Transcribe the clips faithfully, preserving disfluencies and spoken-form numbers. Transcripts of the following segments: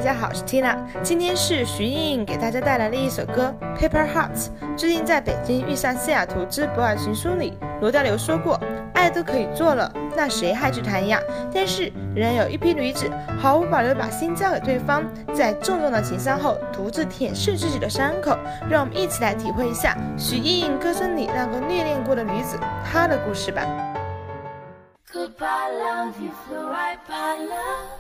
家好，我是 Tina， 今天是徐莹莹给大家带来了一首歌 Paper Hearts。 最近在北京遇上西雅图之博尔行书里，罗大佑说过，爱都可以做了，那谁还去谈呀？但是仍然有一批女子毫无保留把心交给对方，在重重的情伤后独自舔舐自己的伤口。让我们一起来体会一下徐莹莹歌声里那个虐恋过的女子她的故事吧。 Goodbye love, you flew right by love.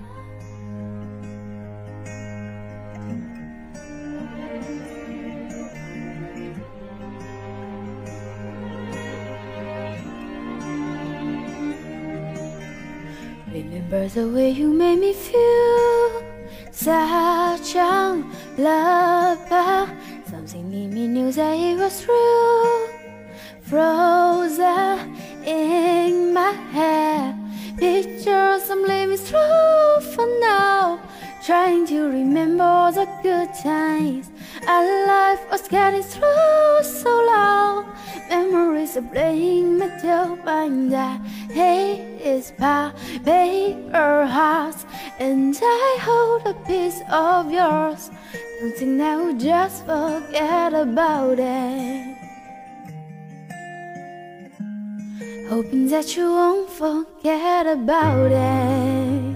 Remember the way you made me feel, such a lover. Something in me knew that it was true. Frozen in my head, pictures I'm living through for now. Trying to remember the good times our life was getting through so long. Memories are playing my mind that hate is by paper hearts, and I hold a piece of yours. Don't think I would just forget about it, hoping that you won't forget about it.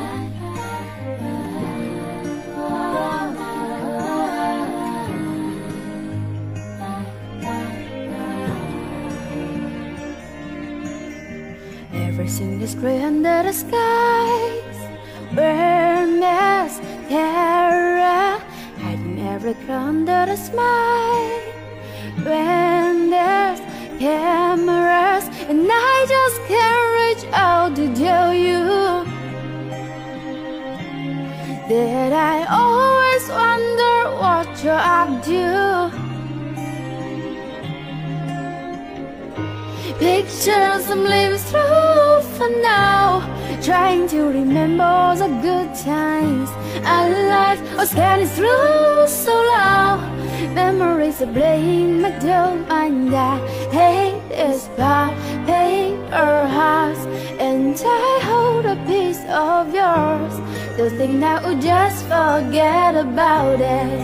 Everything is grey under the skies, we're mascara, hiding every color under the smile. When there's cameras and I just can't reach out to tell you that I always wonder what you're up to. Pictures I'm living through for now, trying to remember the good times our life was getting through so long. Memories are playing my mind that hate is by paper hearts, and I hold a piece of yours. Don't think that we'll just forget about it,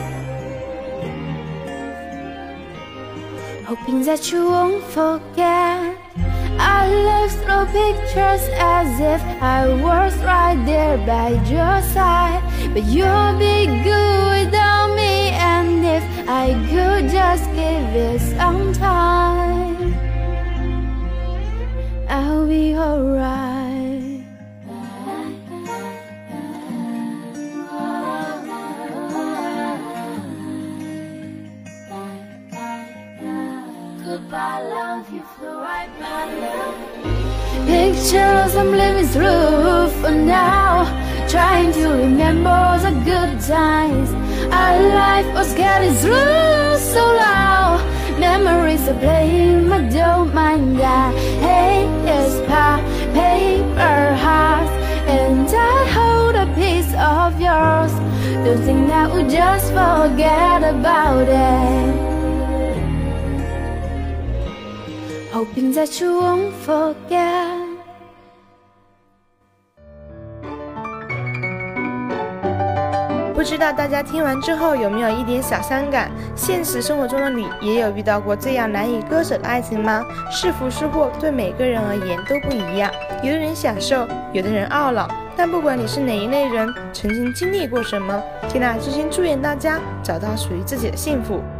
hoping that you won't forget. I look through pictures as if I was right there by your side, but you'll be good without me. And if I could just give it some time, I'll be alright. Goodbye love, you flew right by love. Pictures I'm living through for now, trying to remember the good times our life was getting through so loud. Memories are playing my mind that hate is by paper hearts, and I hold a piece of yours. Don't think that we'll just forget about it, hoping that you won't forget. 不知道大家听完之后有没有一点小伤感？现实生活中的你也有遇到过这样难以割舍的爱情吗？是福是祸，对每个人而言都不一样。有的人享受，有的人懊恼。但不管你是哪一类人，曾经经历过什么，缇娜真心祝愿大家找到属于自己的幸福。